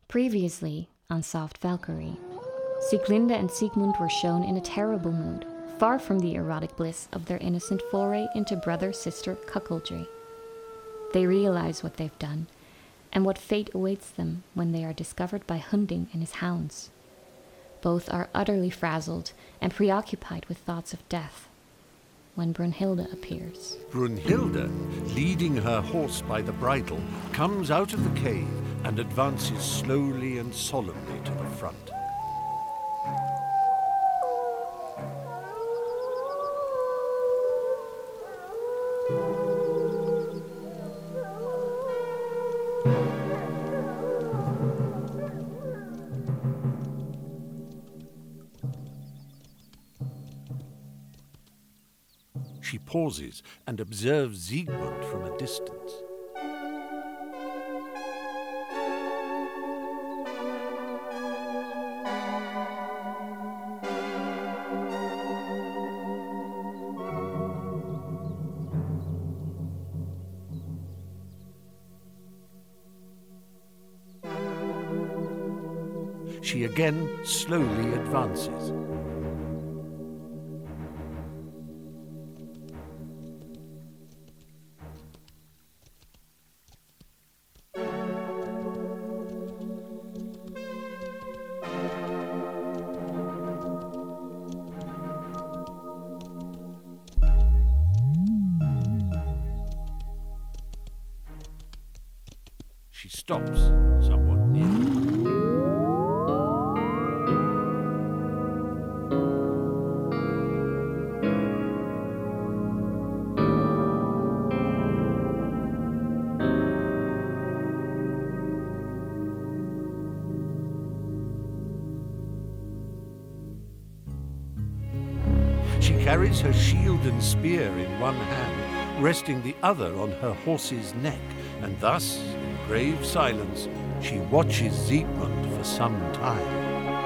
Previously on Soft Valkyrie, Sieglinde and Siegmund were shown in a terrible mood, far from the erotic bliss of their innocent foray into brother-sister cuckoldry. They realize what they've done, and what fate awaits them when they are discovered by Hunding and his hounds. Both are utterly frazzled and preoccupied with thoughts of death, when Brunhilde appears. Brunhilde, leading her horse by the bridle, comes out of the cave and advances slowly and solemnly to the front. She pauses and observes Siegmund from a distance. She again slowly advances. She stops somewhat near. She carries her shield and spear in one hand, resting the other on her horse's neck, and thus, in grave silence, she watches Siegmund for some time.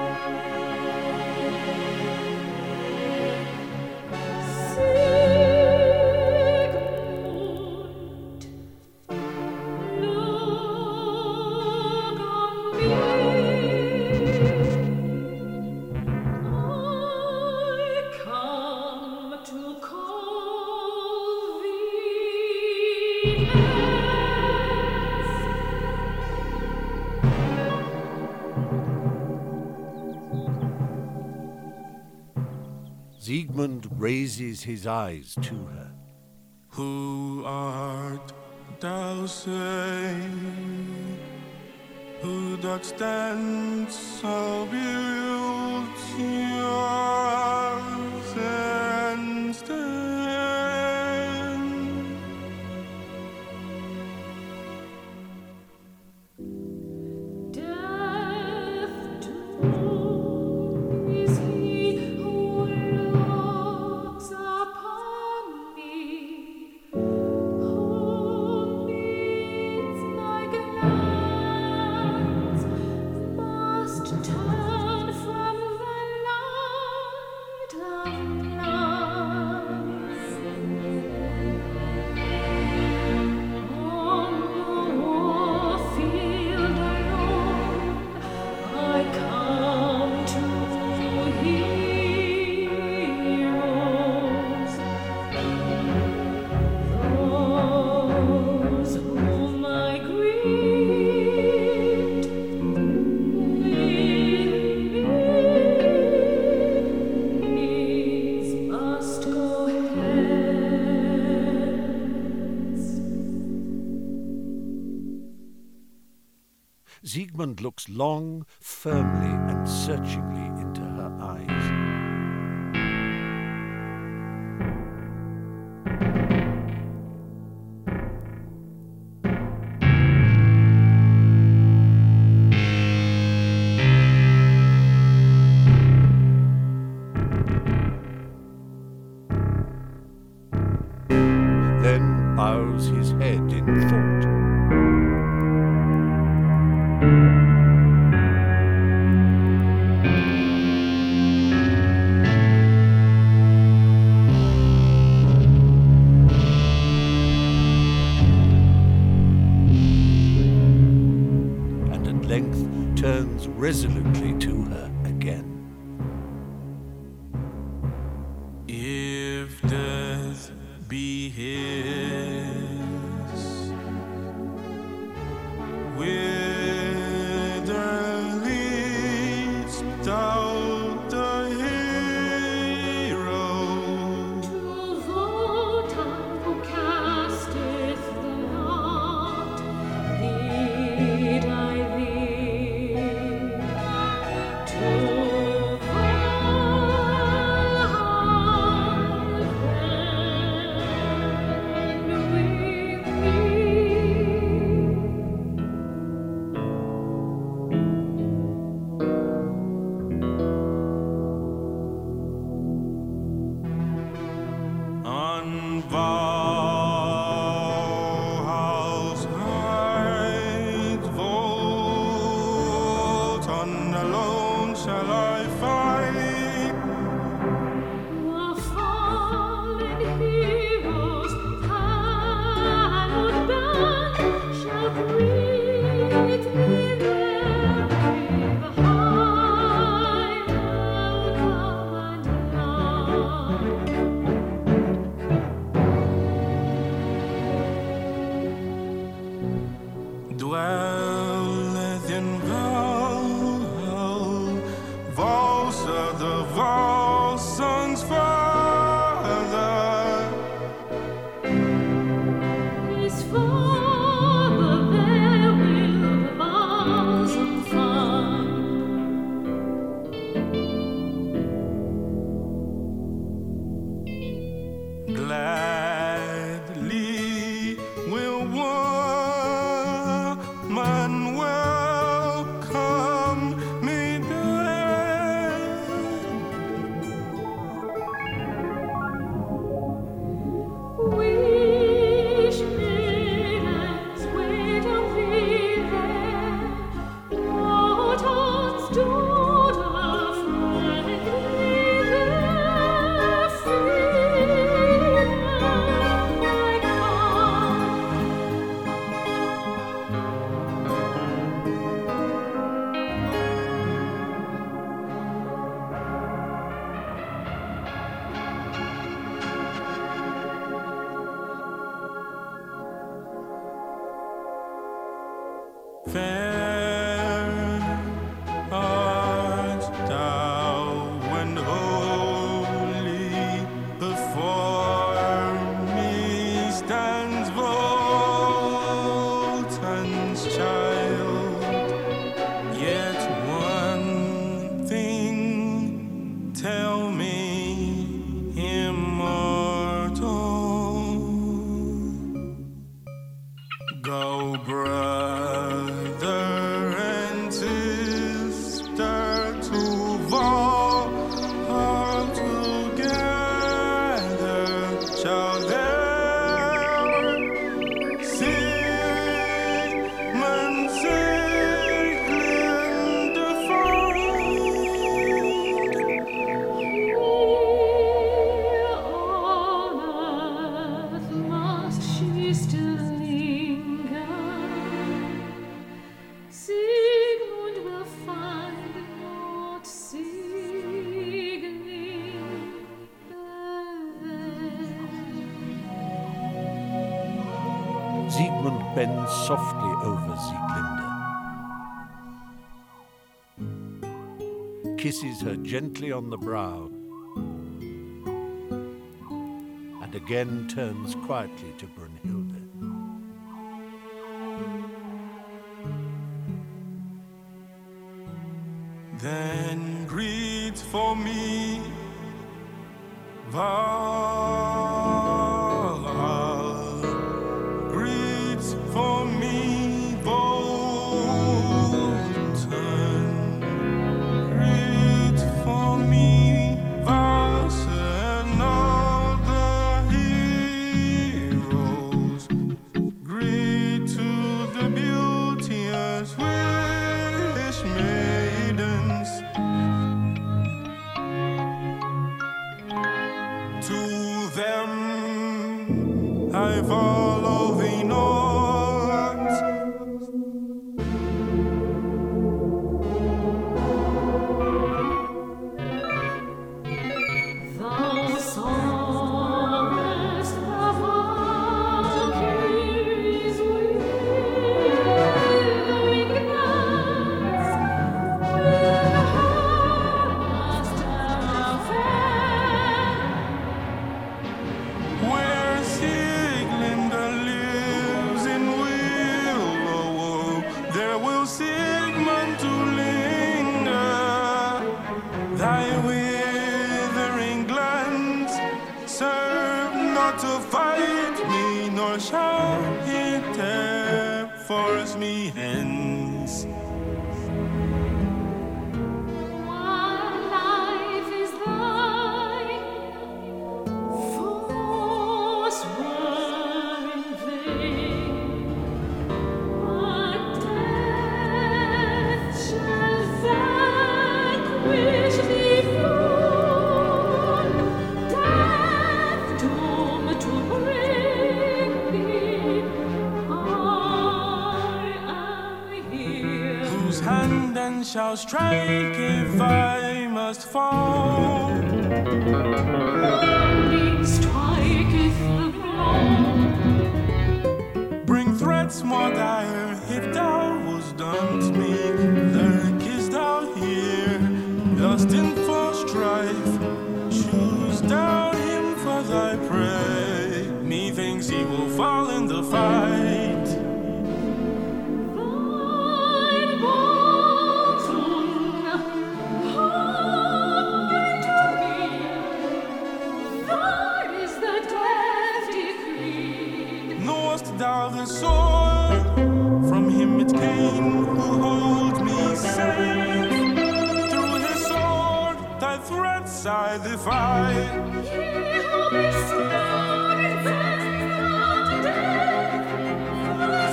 Siegmund raises his eyes to her. Who art thou, say? Who doth stand so beautiful and stand? Death to is he who looks upon me, who meets my glance, must turn from the light of night. On the warfield alone, I come to heroes, those whom I greet with these must go hence. Siegmund looks long, firmly, and searchingly into her eyes. Then bows his head in thought. length turns resolutely to her again. If death be his, whither leads thou the hero? To Wotan who casteth the lot, lead I thee. To Valhalla with me. On Valhall's height, Wotan alone shall I fight. The fallen heroes, hallowed band, shall greet me there with high welcome and love. Dwelleth in Valhall, Valsa the Volsungs' father. His father there will the balsam find. Gladly will woman welcome me there. Wish maidens wait on thee there, Wotan's daughter friendly there, feed them like Fair art thou and holy, before me stands Wotan's child. Yet one thing tell me, immortal, go brother and sister to Valhall together, shall there Sigmund Siglinda find. Here on earth must she still linger. Sigmund will find not Siglinda there. Siegmund bends softly over Sieglinde, kisses her gently on the brow, and again turns quietly to Brunhilde. Then greet for me Valhall, greet for me Wotan, greet for me Valsa and all the heroes, greet to the beauteous wish maidens, to their Sigmund to linger. Thy withering glance serve not to fight me, nor shall it tear force me hence. While life is thine, force were in vain. But death shall vanquish thee full. Death doomed to bring thee. I am here. Whose hand then shall strike if I must fall? Lightning striketh the ground. Bring threats more dire if thou wast done to me. Lurkest thou here, lusting for strife? Choose thou him for thy prey. Methinks he will fall in the fight. Thine Bolton, hunger to me. Thine is the death decreed. Knowest thou the sword? From him it came who holds me safe. Through his sword thy threats I defy. He who be slain in death from death, for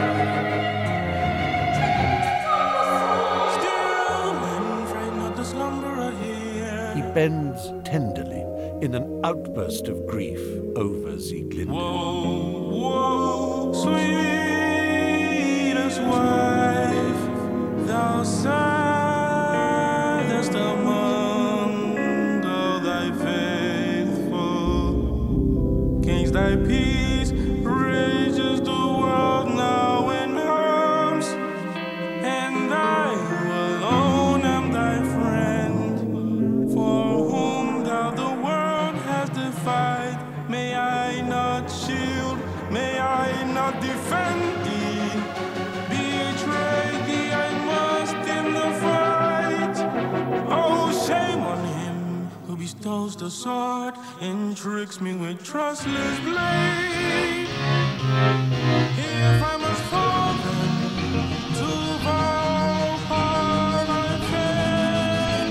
sweet Still men fret not the slumberer He here. bends tenderly in an outburst of grief over Sieglinde. Woe, woe, sweetest wife, thou saddest among all thy faithful. Kings, thy peace rages the world now in arms, and I alone am thy friend, for whom thou the world hast defied. May I not shield, may I not defend thee. Betray thee I must in the fight. Oh, shame on him who bestows the sword and tricks me with trustless blade. If I must fall then to Valhalla, I fain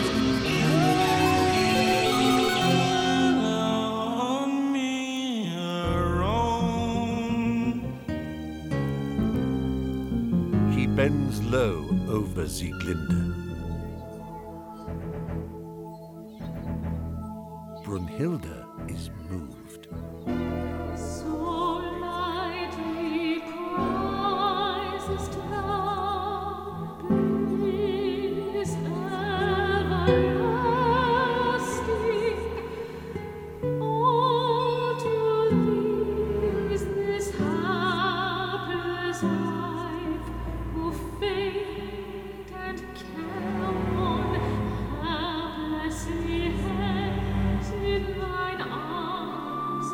on me alone. He bends low over Sieglinde. Brunhilde is moved. So lightly prizest thou bliss everlasting. All to thee is this hapless life, who faint and careworn, haplessly hangs in thine arms.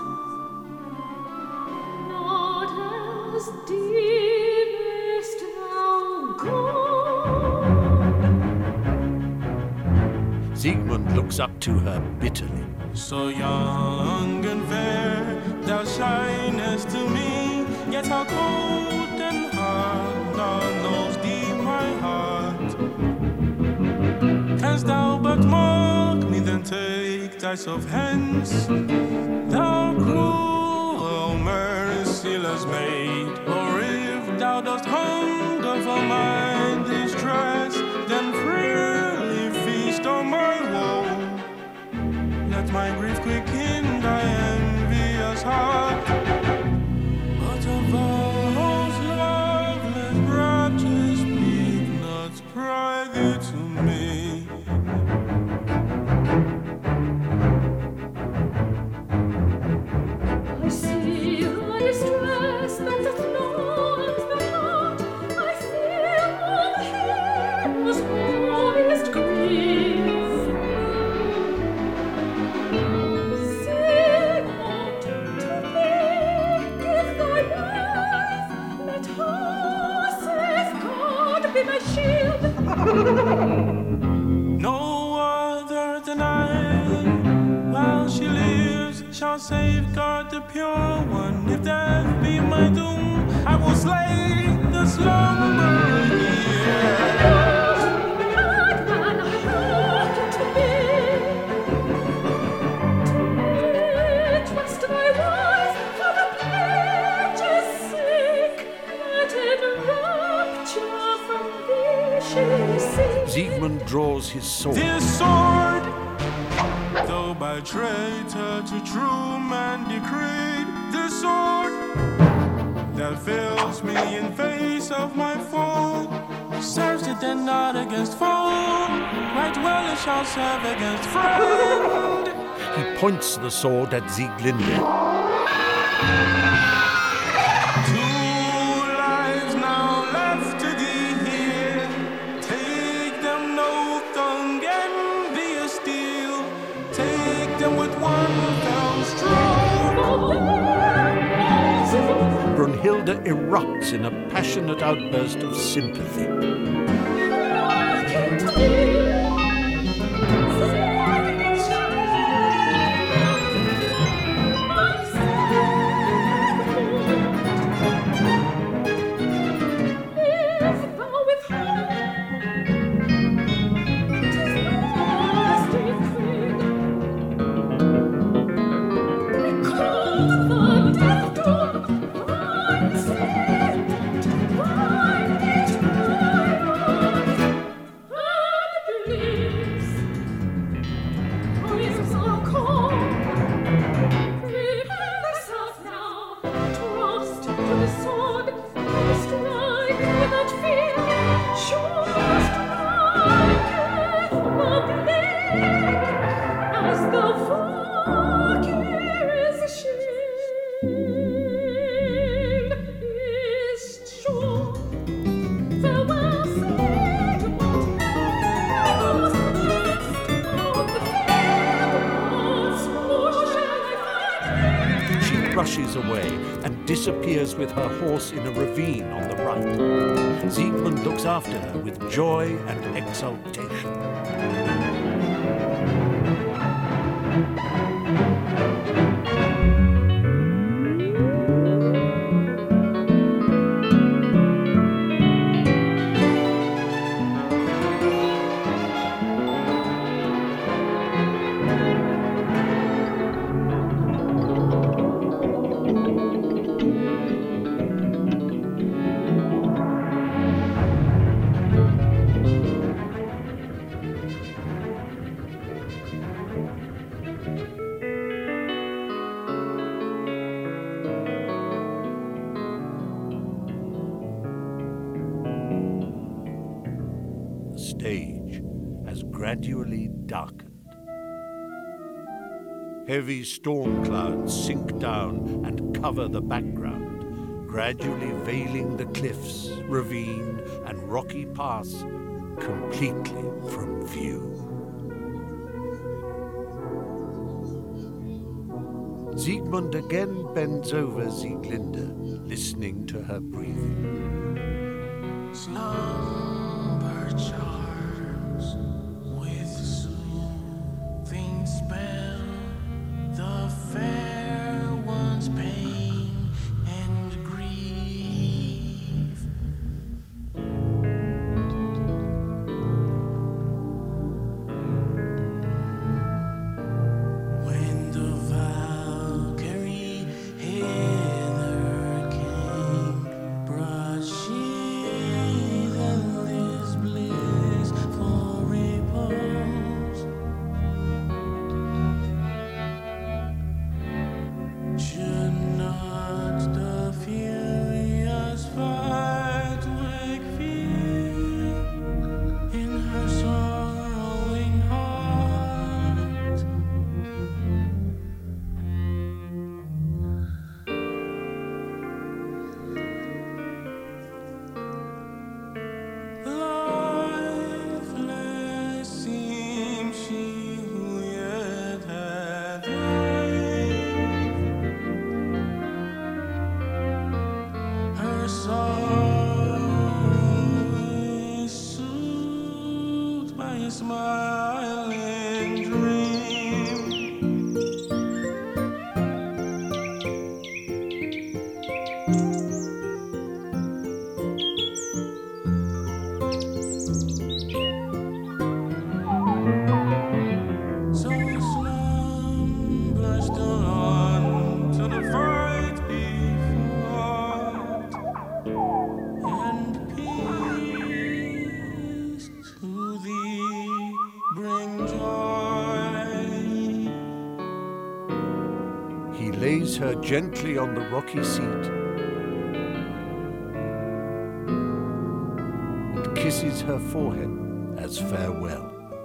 Not as deemest thou good. Siegmund looks up to her bitterly. So young and fair, thou shinest to me, yet how cold and hard thou knows thee my heart. Canst thou but mock me, then take thyself hence, thou cruel, merciless maid. Or if thou dost hunger for my distress, then freely feast on my woe. Let my grief quicken thy envious heart. But of vows loveless raptures speak not private to me. I see thy distress that doth gnaw the heart. I feel all heroes' holiest grief. Sigmund, to thee be my shield. No other than I, while she lives, shall safeguard the pure one. If death be my doom, I will slay the slumbering year. Madman, hearken to me. Trust thy voice for the pledge's sake, that in rapture from thee she seeks. Siegmund draws his sword. This sword, though by traitor to true man decreed, this sword that fills me in face of my foe, serves it then not against foe, right well it shall serve against friend. He points the sword at Sieglinde. 2 lives now left to thee here. Take them, no tongue envious steel. Take them with one fell stroke. Brunhilde erupts in a passionate outburst of sympathy. Hearken to me. If thou withhold, 'tis lost decreed. Recall the death doom, thine sentence, thine eternal, and please. Voices are called. Prepare thyself now. Trust to the sword. Strike without fear. Sure striketh the blade, as the Valkyrie's shield is sure. Farewell, Sigmund. I must rest on the field. Or shall I find thee? She rushes away and disappears with her horse in a ravine on the right. Siegmund looks after her with joy and exultation. The stage has gradually darkened. Heavy storm clouds sink down and cover the background, gradually veiling the cliffs, ravine, and rocky pass completely from view. Siegmund again bends over Sieglinde, listening to her breathing. Slumber charms with soothing spell the fair one's pain and grief. When the Valkyrie hither came, brought she the smiling dream. So slumber still on to the fight be fought, and peace to thee bring joy. He lays her gently on the rocky seat and kisses her forehead as farewell.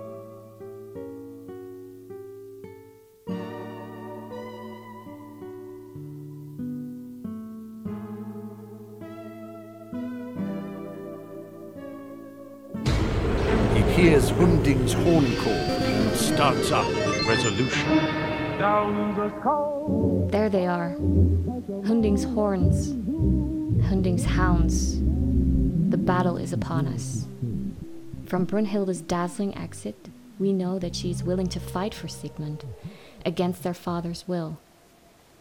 He hears Hunding's horn call and starts up with resolution. There they are. Hunding's horns. Hunding's hounds. The battle is upon us. From Brunhilde's dazzling exit, we know that she is willing to fight for Sigmund, against their father's will.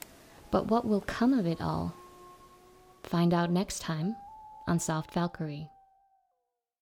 But what will come of it all? Find out next time on Soft Valkyrie.